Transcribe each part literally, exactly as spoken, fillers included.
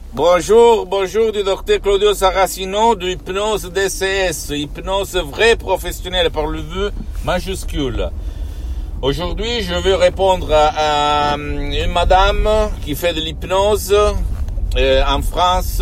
Bonjour, bonjour du docteur Claudio Saracino de Hypnose D C S, hypnose vraie professionnelle par le V majuscule. Aujourd'hui, je vais répondre à, à une madame qui fait de l'hypnose euh, en France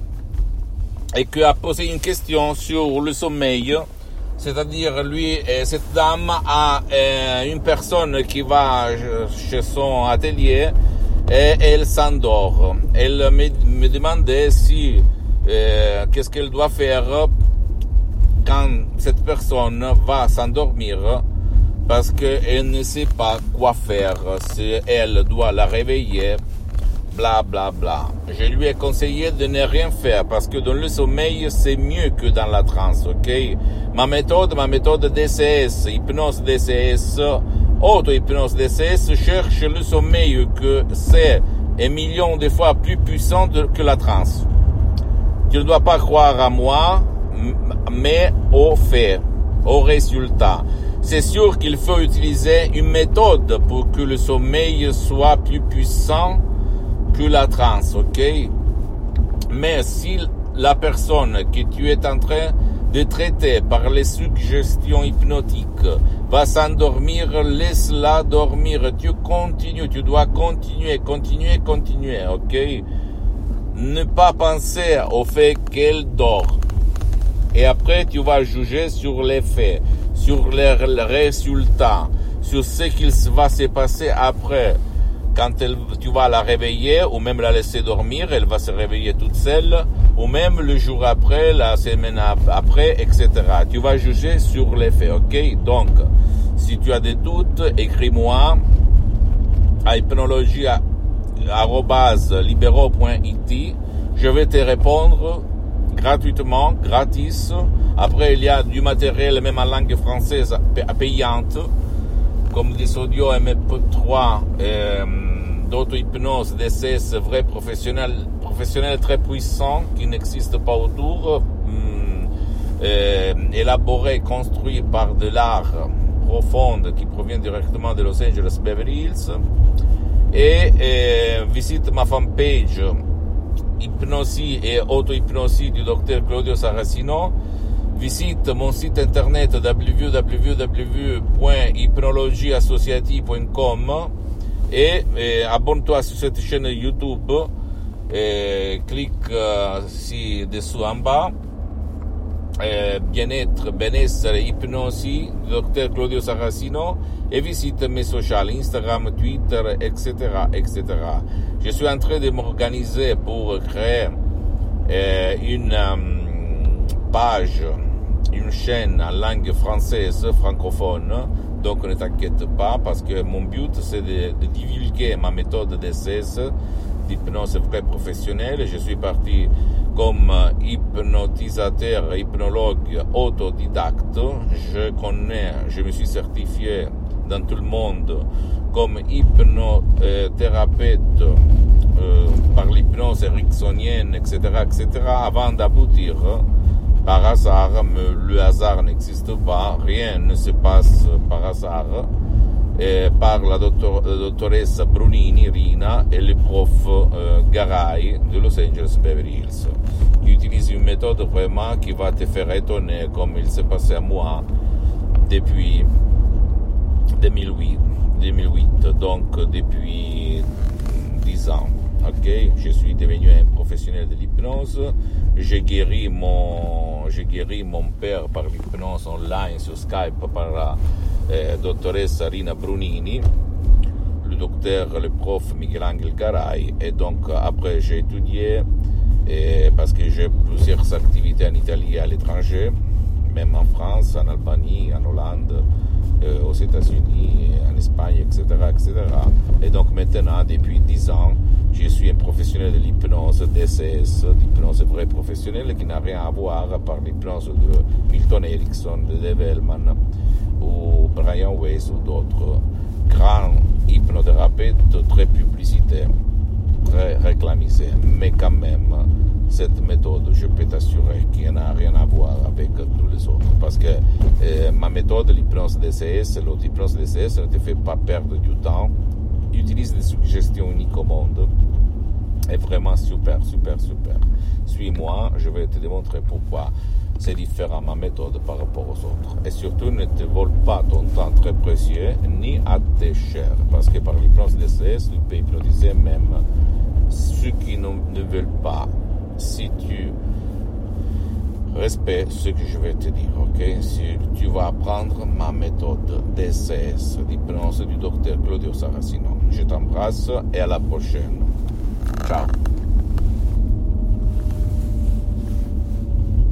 et qui a posé une question sur le sommeil. C'est-à-dire, lui, cette dame a euh, une personne qui va chez son atelier et elle s'endort. Elle me, me demandait si euh, qu'est-ce qu'elle doit faire quand cette personne va s'endormir parce qu'elle ne sait pas quoi faire, si elle doit la réveiller, bla bla bla. Je lui ai conseillé de ne rien faire parce que dans le sommeil c'est mieux que dans la transe, ok? Ma méthode, ma méthode D C S, hypnose D C S, auto-hypnose D C S, cherche le sommeil que c'est un million de fois plus puissant de, que la transe. Tu ne dois pas croire à moi, mais au fait, au résultat. C'est sûr qu'il faut utiliser une méthode pour que le sommeil soit plus puissant que la transe, ok? Mais si la personne que tu es en train de traiter par les suggestions hypnotiques va s'endormir, laisse-la dormir. Tu continues, tu dois continuer, continuer, continuer, ok? Ne pas penser au fait qu'elle dort. Et après, tu vas juger sur les faits, sur les résultats, sur ce qu'il va se passer après. Quand elle, tu vas la réveiller ou même la laisser dormir, elle va se réveiller toute seule, ou même le jour après, la semaine après, et cetera. Tu vas juger sur les faits, ok? Donc, si tu as des doutes, écris-moi à hypnologia arobase libero point it. Je vais te répondre gratuitement, gratis. Après, il y a du matériel, même en langue française, payante, comme des audios M P trois, euh, d'auto-hypnose, D C S, vrai professionnel, professionnel très puissant, qui n'existe pas autour, euh, élaboré, construit par de l'art profond, qui provient directement de Los Angeles, Beverly Hills. Et euh, visite ma fanpage, Hypnosie et auto-hypnosie du docteur Claudio Saracino. Visite mon site internet w w w point hypnologie associative point com et, et abonne-toi sur cette chaîne YouTube et clique euh, ici dessous en bas. Et bien-être, benessere, hypnosie, docteur Claudio Saracino, et visite mes sociaux, Instagram, Twitter, et cetera, et cetera. Je suis en train de m'organiser pour créer euh, une euh, page, une chaîne en langue française, francophone. Donc ne t'inquiète pas, parce que mon but c'est de, de divulguer ma méthode D C S, d'hypnose vraie professionnelle. Je suis parti comme hypnotisateur, hypnologue autodidacte. Je connais, je me suis certifié dans tout le monde comme hypnothérapeute euh, par l'hypnose ericksonienne, et cetera, et cetera, avant d'aboutir par hasard, mais le hasard n'existe pas, rien ne se passe par hasard, et par la dottor, dottoressa Brunini, Rina, et le prof euh, Garay de Los Angeles, Beverly Hills, qui utilise une méthode vraiment qui va te faire étonner, comme il s'est passé à moi depuis deux mille huit, deux mille huit, donc depuis dix ans. Ok, je suis devenu un professionnel de l'hypnose. J'ai guéri mon, j'ai guéri mon père par l'hypnose online sur Skype par la euh, doctoressa Rina Brunini, le docteur, le prof Miguel Angel Garay. Et donc après j'ai étudié et, parce que j'ai plusieurs activités en Italie et à l'étranger, même en France, en Albanie, en Hollande, euh, aux États-Unis, en Espagne, et cetera, et cetera. Et donc maintenant, depuis dix ans, je suis un professionnel de l'hypnose D C S, d'hypnose vraie professionnelle, qui n'a rien à voir par l'hypnose de Milton Erickson, de Dave Hellman, ou Brian Weiss, ou d'autres grands hypnothérapeutes très publicités, très réclamisés. Mais quand même, cette méthode, je peux t'assurer qu'il n'a rien à voir avec tous les autres. Parce que euh, ma méthode, l'hypnose D C S, l'auto-hypnose D C S, ne te fait pas perdre du temps. Utilise des suggestions uniques au monde. est vraiment super, super, super. Suis-moi, je vais te démontrer pourquoi c'est différent ma méthode par rapport aux autres. Et surtout, ne te vole pas ton temps très précieux, ni à tes chers, parce que par l'hypnose D C S, tu peux hypnotiser même ceux qui ne, ne veulent pas, si tu respectes ce que je vais te dire, ok? Si tu vas apprendre ma méthode D C S, l'hypnose du docteur Claudio Saracino. Je t'embrasse et à la prochaine. Ciao.